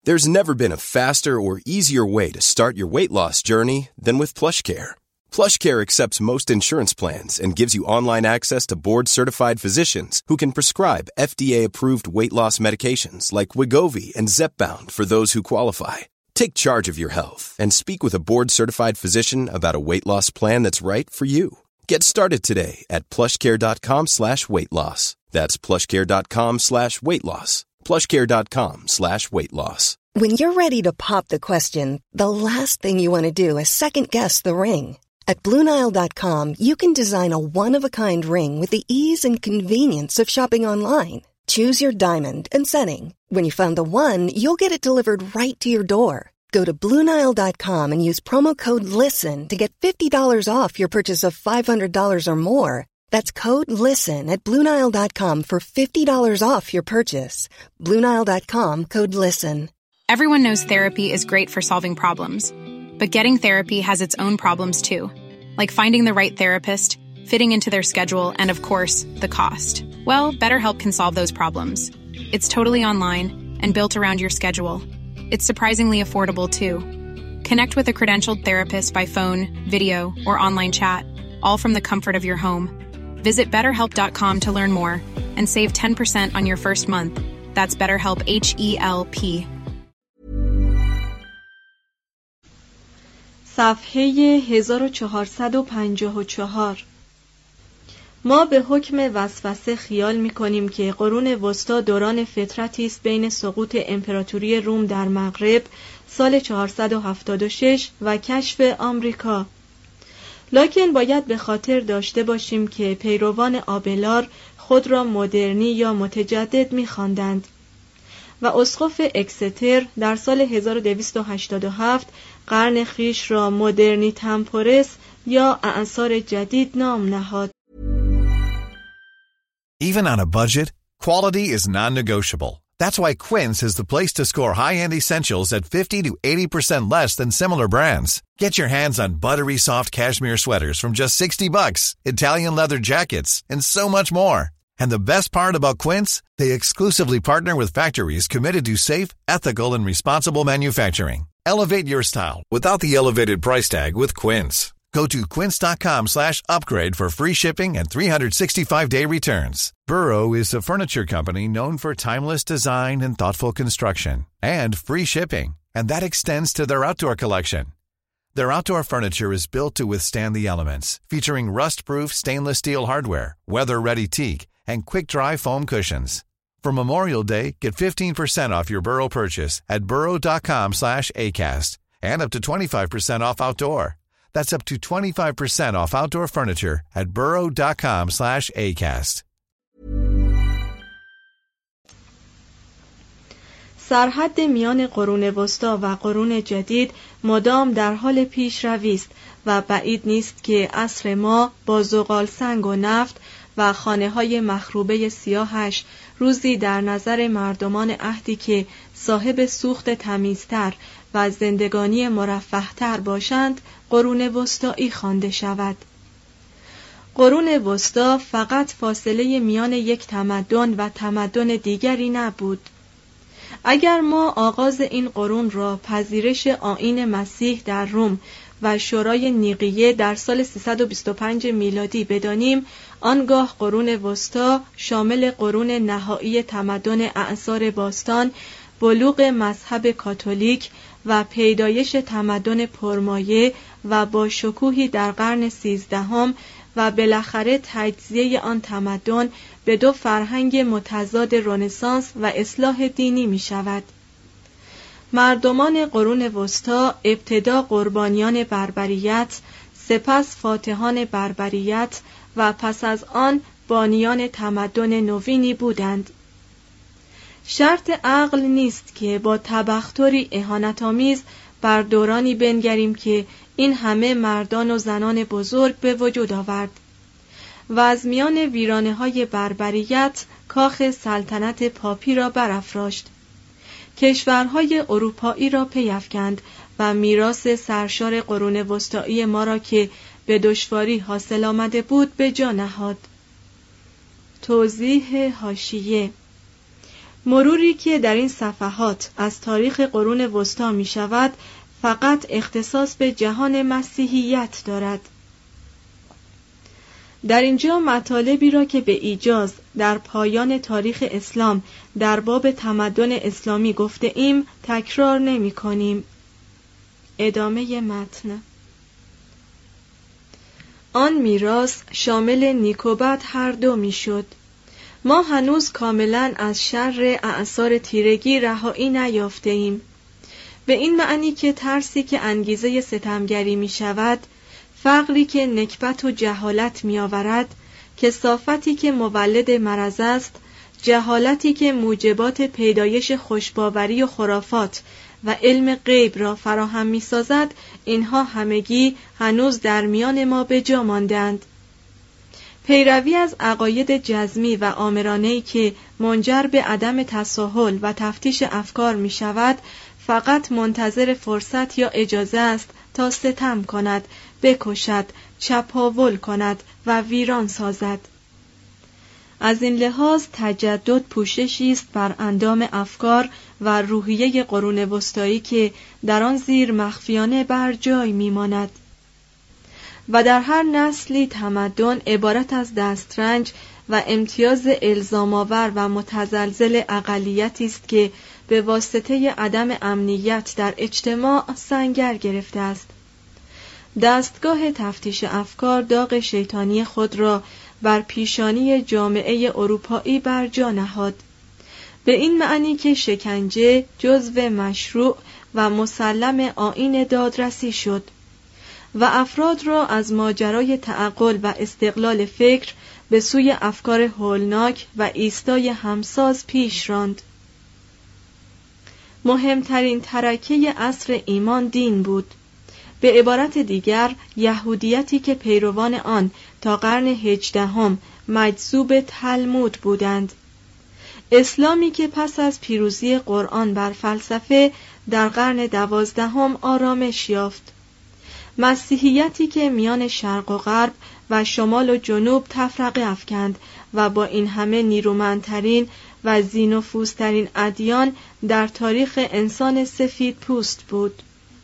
There's never been a faster or easier way to start your weight loss journey than with PlushCare. PlushCare accepts most insurance plans and gives you online access to board-certified physicians who can prescribe FDA-approved weight loss medications like Wegovy and Zepbound for those who qualify. Take charge of your health and speak with a board-certified physician about a weight loss plan that's right for you. Get started today at plushcare.com/weightloss. That's plushcare.com/weightloss. plushcare.com/weightloss. When you're ready to pop the question, the last thing you want to do is second-guess the ring. At BlueNile.com, you can design a one-of-a-kind ring with the ease and convenience of shopping online. Choose your diamond and setting. When you find the one, you'll get it delivered right to your door. Go to BlueNile.com and use promo code LISTEN to get $50 off your purchase of $500 or more. That's code LISTEN at BlueNile.com for $50 off your purchase. BlueNile.com, code LISTEN. Everyone knows therapy is great for solving problems, but getting therapy has its own problems too, like finding the right therapist, fitting into their schedule, and of course, the cost. Well, BetterHelp can solve those problems. It's totally online and built around your schedule. It's surprisingly affordable too. Connect with a credentialed therapist by phone, video, or online chat, all from the comfort of your home. Visit BetterHelp.com to learn more and save 10% on your first month. That's BetterHelp, HELP. صفحه 1454. ما به حکم وسوسه خیال می‌کنیم که قرون وسطی دوران فترتی است بین سقوط امپراتوری روم در مغرب سال 476 و کشف آمریکا. لکن باید به خاطر داشته باشیم که پیروان آبلار خود را مدرنی یا متجدد می‌خواندند و اسقف اکستر در سال 1287 قرن خیش را مدرنی تمپورس یا اعصار جدید نام نهاد. Even on a budget, quality is non-negotiable. That's why Quince is the place to score high-end essentials at 50 to 80% less than similar brands. Get your hands on buttery soft cashmere sweaters from just $60, Italian leather jackets, and so much more. And the best part about Quince, they exclusively partner with factories committed to safe, ethical, and responsible manufacturing. Elevate your style without the elevated price tag with Quince. Go to quince.com/upgrade for free shipping and 365-day returns. Burrow is a furniture company known for timeless design and thoughtful construction, and free shipping, and that extends to their outdoor collection. Their outdoor furniture is built to withstand the elements, featuring rust-proof stainless steel hardware, weather-ready teak, and quick-dry foam cushions. For Memorial Day, get 15% off your Burrow purchase at burrow.com/acast, and up to 25% off outdoor. That's up to 25% off outdoor furniture at burrow.com/acast. سرحد میان قرون وسطی و قرون جدید مدام در حال پیشروی است و بعید نیست که عصر ما با زغال سنگ و نفت و خانه‌های مخروبه سیاهش روزی در نظر مردمان عهدی که صاحب سوخت تمیزتر و زندگانی مرفه‌تر باشند قرون وسطایی خوانده شود. قرون وسطی فقط فاصله میان یک تمدن و تمدن دیگری نبود. اگر ما آغاز این قرون را پذیرش آیین مسیح در روم و شورای نیقیه در سال 325 میلادی بدانیم، آنگاه قرون وسطی شامل قرون نهایی تمدن اعصار باستان، بلوغ مذهب کاتولیک و پیدایش تمدن پرمایه و با شکوهی در قرن 13 و بالاخره تجزیه آن تمدن به دو فرهنگ متضاد رنسانس و اصلاح دینی می شود. مردمان قرون وسطی ابتدا قربانیان بربریت، سپس فاتحان بربریت و پس از آن بانیان تمدن نوینی بودند. شرط عقل نیست که با تبختری اهانت‌آمیز بر دورانی بنگریم که این همه مردان و زنان بزرگ به وجود آورد و از میان ویرانه‌های بربریت کاخ سلطنت پاپی را برافراشت. کشورهای اروپایی را پی افکند و میراث سرشار قرون وسطایی ما را که به دشواری حاصل آمده بود به جا نهاد. توضیح حاشیه: مروری که در این صفحات از تاریخ قرون وسطی می شود فقط اختصاص به جهان مسیحیت دارد. در اینجا مطالبی را که به ایجاز در پایان تاریخ اسلام در باب تمدن اسلامی گفته ایم تکرار نمی کنیم. ادامه متن. آن میراث شامل نیک و بد هر دو می شد. ما هنوز کاملا از شر اعصار تیرگی رهایی نیافته ایم، به این معنی که ترسی که انگیزه ستمگری می شود، فقری که نکبت و جهالت می آورد، کثافتی که مولد مرض است، جهالتی که موجبات پیدایش خوشباوری و خرافات و علم غیب را فراهم می سازد، اینها همگی هنوز در میان ما به جا ماندند. پیروی از عقاید جزمی و آمرانه‌ای که منجر به عدم تساهل و تفتیش افکار می شود، فقط منتظر فرصت یا اجازه است تا ستم کند، بکشد، چپاول کند و ویران سازد. از این لحاظ تجدد پوششی است بر اندام افکار و روحیه قرون وسطایی که در آن زیر مخفیانه بر جای میماند و در هر نسلی تمدن عبارت از دسترنج و امتیاز الزام‌آور و متزلزل اقلیتی است که به واسطه عدم امنیت در اجتماع سنگر گرفته است. دستگاه تفتیش افکار داغ شیطانی خود را بر پیشانی جامعه اروپایی بر جا نهاد، به این معنی که شکنجه جزو مشروع و مسلم آیین دادرسی شد و افراد را از ماجرای تعقل و استقلال فکر به سوی افکار هولناک و ایستای همساز پیش راند. مهمترین ترکه عصر ایمان دین بود، به عبارت دیگر یهودیتی که پیروان آن تا قرن 18 مجذوب تلمود بودند، اسلامی که پس از پیروزی قرآن بر فلسفه در قرن 12 آرامش یافت، مسیحیتی که میان شرق و غرب و شمال و جنوب تفرقه افکند و با این همه نیرومندترین و ذی‌نفوذترین ادیان در تاریخ انسان سفید پوست بود.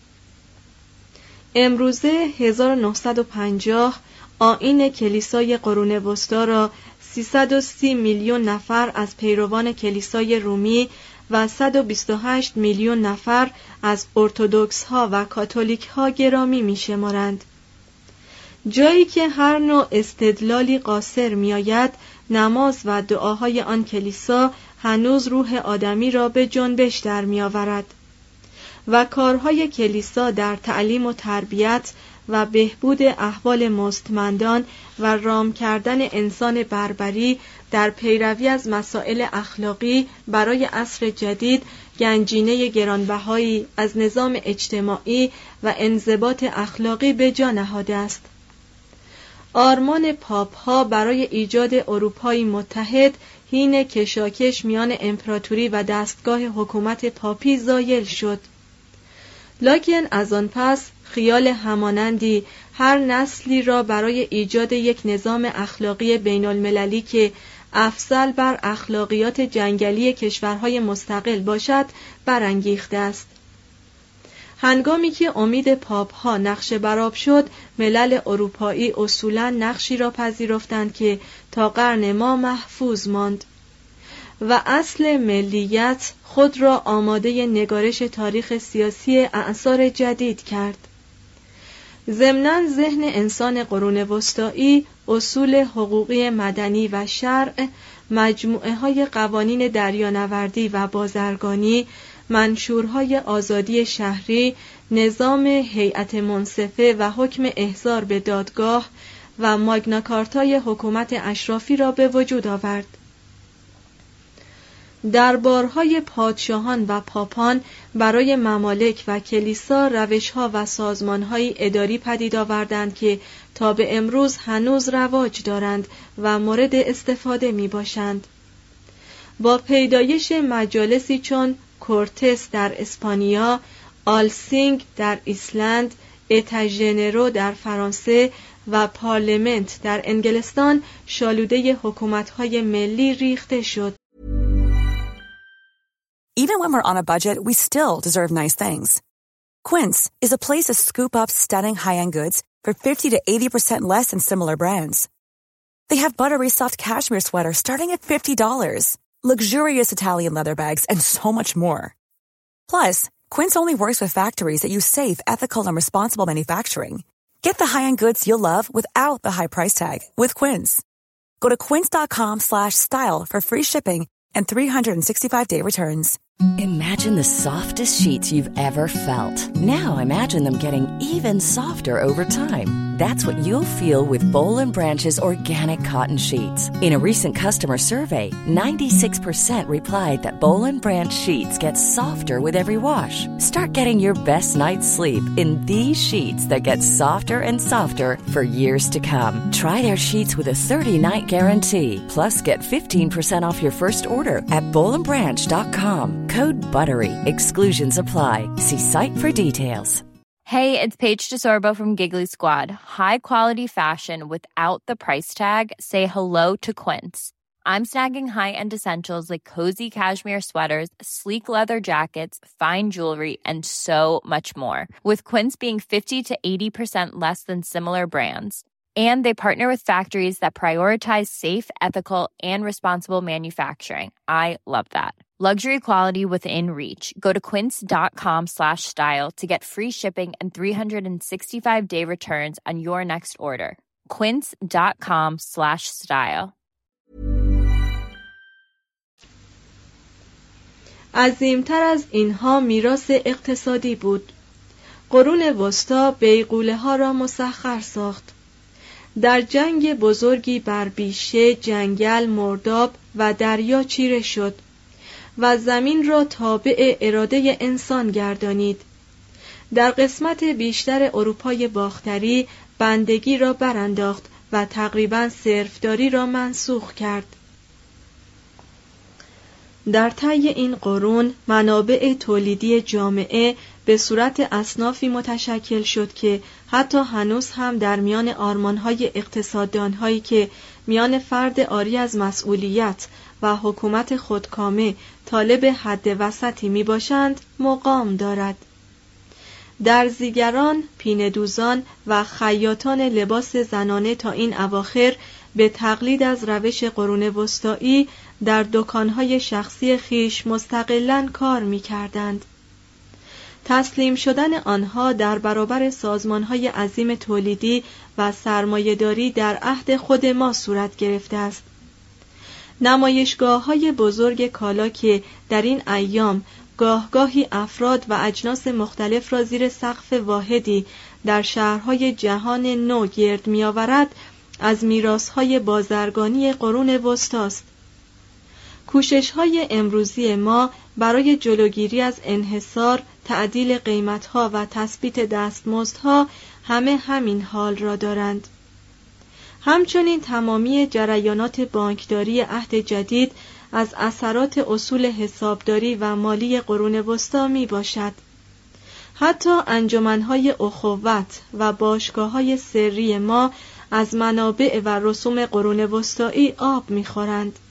امروزه 1950 آیین کلیسای قرون وسطی را 330 میلیون نفر از پیروان کلیسای رومی و 128 میلیون نفر از ارتدوکس ها و کاتولیک ها گرامی می شمارند. جایی که هر نوع استدلالی قاصر می آید، نماز و دعاهای آن کلیسا هنوز روح آدمی را به جنبش در می آورد و کارهای کلیسا در تعلیم و تربیت و بهبود احوال مستمندان و رام کردن انسان بربری در پیروی از مسائل اخلاقی برای عصر جدید گنجینه گرانبهایی از نظام اجتماعی و انضباط اخلاقی به جا نهاده است. آرمان پاپ ها برای ایجاد اروپایی متحد حین کشاکش میان امپراتوری و دستگاه حکومت پاپی زایل شد. لکن از آن پس خیال همانندی هر نسلی را برای ایجاد یک نظام اخلاقی بین المللی که افضل بر اخلاقیات جنگلی کشورهای مستقل باشد برانگیخته است. هنگامی که امید پاپ ها نقش برآب شد، ملل اروپایی اصولاً نقشی را پذیرفتند که تا قرن ما محفوظ ماند و اصل ملیت خود را آماده نگارش تاریخ سیاسی اعصار جدید کرد. ضمناً ذهن انسان قرون وسطایی اصول حقوقی مدنی و شرع، مجموعه های قوانین دریانوردی و بازرگانی، منشورهای آزادی شهری، نظام هیئت منصفه و حکم احضار به دادگاه و ماگناکارتای حکومت اشرافی را به وجود آورد. دربارهای پادشاهان و پاپان برای ممالک و کلیسا روشها و سازمانهای اداری پدید آوردند که تا به امروز هنوز رواج دارند و مورد استفاده می باشند. با پیدایش مجالسی چون کورتس در اسپانیا، آلسینگ در ایسلند، اتاژنرو در فرانسه و پارلمنت در انگلستان شالوده حکومت‌های ملی ریخته شد. even when we're on a budget, we still deserve nice things. Quince is a place to scoop up stunning high-end goods for 50 to 80% less than similar brands. They have buttery soft cashmere sweaters starting at $50, luxurious Italian leather bags, and so much more. Plus, Quince only works with factories that use safe, ethical, and responsible manufacturing. Get the high-end goods you'll love without the high price tag with Quince. Go to quince.com/style for free shipping and 365-day returns. Imagine the softest sheets you've ever felt. Now imagine them getting even softer over time. That's what you'll feel with Boll & Branch's organic cotton sheets. In a recent customer survey, 96% replied that Boll & Branch sheets get softer with every wash. Start getting your best night's sleep in these sheets that get softer and softer for years to come. Try their sheets with a 30-night guarantee. Plus, get 15% off your first order at bollandbranch.com. Code BUTTERY. Exclusions apply. See site for details. Hey, it's Paige DeSorbo from Giggly Squad. High quality fashion without the price tag. Say hello to Quince. I'm snagging high-end essentials like cozy cashmere sweaters, sleek leather jackets, fine jewelry, and so much more. With Quince being 50 to 80% less than similar brands. And they partner with factories that prioritize safe, ethical, and responsible manufacturing. I love that. Luxury quality within reach. Go to quince.com/style to get free shipping and 365-day returns on your next order. quince.com/style. عظیمتر از اینها میراث اقتصادی بود. قرون وسطی بیغوله ها را مسخر ساخت. در جنگ بزرگی بر بیشه، جنگل، مرداب و دریا چیره شد و زمین را تابع اراده انسان گردانید. در قسمت بیشتر اروپای باختری بندگی را برانداخت و تقریباً صرفداری را منسوخ کرد. در طی این قرون منابع تولیدی جامعه به صورت اصنافی متشکل شد که حتی هنوز هم در میان آرمانهای اقتصاددانهایی که میان فرد عاری از مسئولیت و حکومت خودکامه طالب حد وسطی می باشند مقام دارد. درزیگران، پینه‌دوزان و خیاطان لباس زنانه تا این اواخر به تقلید از روش قرون وسطایی در دکانهای شخصی خیش مستقلاً کار می‌کردند. تسلیم شدن آنها در برابر سازمانهای عظیم تولیدی و سرمایه‌داری در عهد خود ما صورت گرفته است. نمایشگاه‌های بزرگ کالا که در این ایام گاهگاهی افراد و اجناس مختلف را زیر سقف واحدی در شهرهای جهان نو گرد می‌آورد، از میراث‌های بازرگانی قرون وسطی است. کوشش‌های امروزی ما برای جلوگیری از انحصار، تعدیل قیمت‌ها و تثبیت دستمزدها همه همین حال را دارند. همچنین تمامی جریانات بانکداری عهد جدید از اثرات اصول حسابداری و مالی قرون وسطی می باشد. حتی انجمن‌های اخوت و باشگاه‌های سری ما از منابع و رسوم قرون وسطایی آب می‌خورند.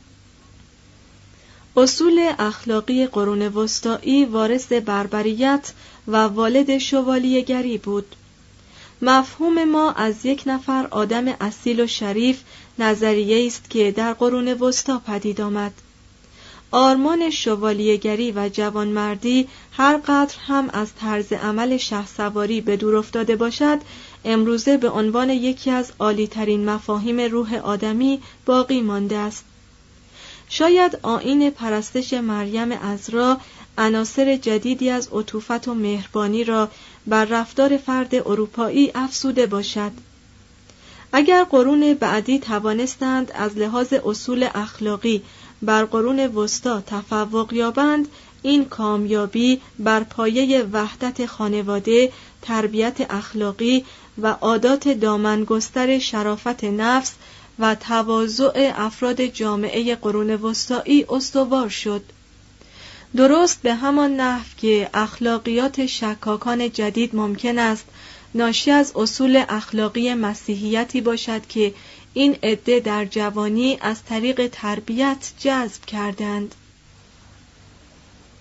اصول اخلاقی قرون وسطایی وارث بربریت و والد شوالیه‌گری بود. مفهوم ما از یک نفر آدم اصیل و شریف نظریه است که در قرون وسطی پدید آمد. آرمان شوالیه‌گری و جوانمردی هر قدر هم از طرز عمل شهسواری به دور افتاده باشد، امروزه به عنوان یکی از عالی‌ترین مفاهیم روح آدمی باقی مانده است. شاید آیین پرستش مریم عذرا عناصر جدیدی از عطوفت و مهربانی را بر رفتار فرد اروپایی افزوده باشد. اگر قرون بعدی توانستند از لحاظ اصول اخلاقی بر قرون وسطی تفوق یابند، این کامیابی بر پایه وحدت خانواده، تربیت اخلاقی و عادات دامنگستر شرافت نفس و تواضع افراد جامعه قرون وسطایی استوار شد. درست به همان نحو که اخلاقیات شکاکان جدید ممکن است ناشی از اصول اخلاقی مسیحیتی باشد که این عده در جوانی از طریق تربیت جذب کردند.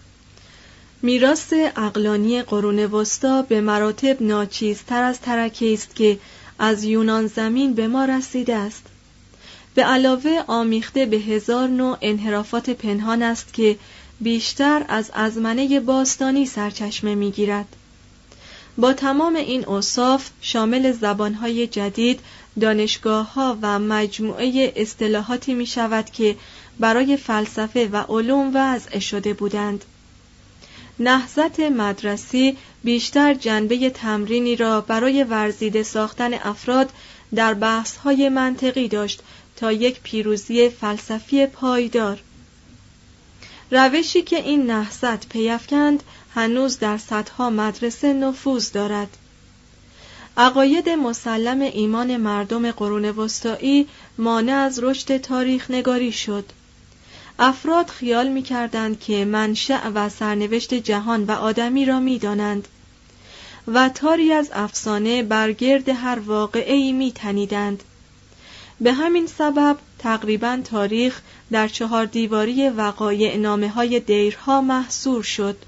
میراث عقلانی قرون وسطا به مراتب ناچیزتر از ترکه است که از یونان زمین به ما رسیده است. به علاوه آمیخته به 1000 نوع انحرافات پنهان است که بیشتر از ازمنه باستانی سرچشمه می‌گیرد. با تمام این اوصاف شامل زبان‌های جدید، دانشگاه‌ها و مجموعه اصطلاحاتی می‌شود که برای فلسفه و علوم وضع شده بودند. نهضت مدرسی بیشتر جنبه تمرینی را برای ورزیده ساختن افراد در بحث‌های منطقی داشت تا یک پیروزی فلسفی پایدار. روشی که این نهضت پی‌افکند هنوز در صدها مدرسه نفوذ دارد. عقاید مسلم ایمان مردم قرون وسطایی مانع از رشد تاریخ نگاری شد. افراد خیال می‌کردند که منشأ و سرنوشت جهان و آدمی را می‌دانند و تاری از افسانه بر گرد هر واقعه‌ای می‌تنیدند. به همین سبب تقریباً تاریخ در 4 دیواری وقایع نامه‌های دیرها محصور شد.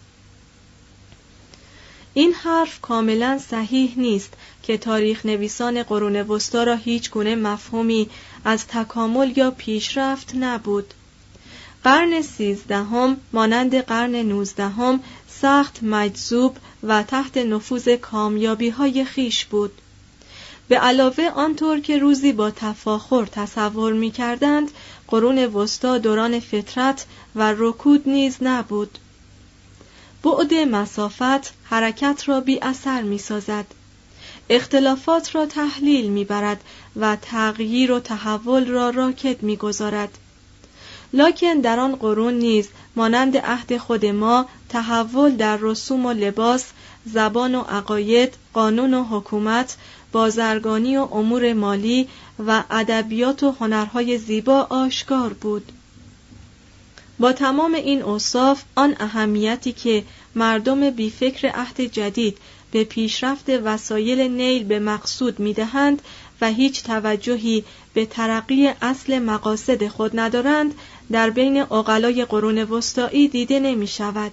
این حرف کاملاً صحیح نیست که تاریخ نویسان قرون وسطا را هیچ گونه مفهومی از تکامل یا پیشرفت نبود. قرن 13 مانند قرن 19 سخت مجذوب و تحت نفوذ کامیابی‌های خیش بود. به علاوه آنطور که روزی با تفاخر تصور می‌کردند، قرون وسطا دوران فطرت و رکود نیز نبود. بعد مسافت حرکت را بی اثر می‌سازد، اختلافات را تحلیل می‌برد و تغییر و تحول را راکد می‌گذارد. لکن در آن قرون نیز مانند عهد خود ما تحول در رسوم و لباس، زبان و عقاید، قانون و حکومت، بازرگانی و امور مالی و ادبیات و هنرهای زیبا آشکار بود. با تمام این اوصاف، آن اهمیتی که مردم بیفکر عهد جدید به پیشرفت وسایل نیل به مقصود می‌دهند و هیچ توجهی به ترقی اصل مقاصد خود ندارند، در بین عقلای قرون وسطایی دیده نمی‌شود.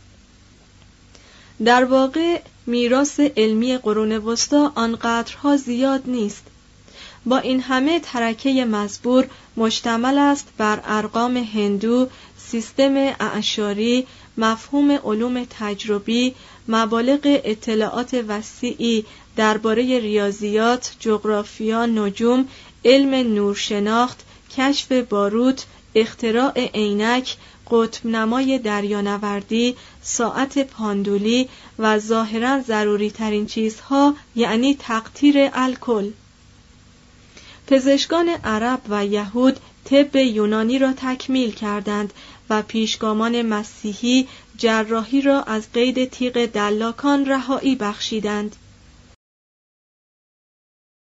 در واقع میراث علمی قرون وسطا آنقدرها زیاد نیست. با این همه ترکه مزبور مشتمل است بر ارقام هندو، سیستم اعشاری، مفهوم علوم تجربی، مبالغ اطلاعات وسیعی درباره ریاضیات، جغرافیا، نجوم، علم نورشناخت، کشف باروت، اختراع عینک، قطب نمای دریانوردی، ساعت پاندولی و ظاهراً ضروری ترین چیزها، یعنی تقطیر الکل. پزشکان عرب و یهود طب یونانی را تکمیل کردند و پیشگامان مسیحی جراحی را از قید تیغ دلاکان رهایی بخشیدند.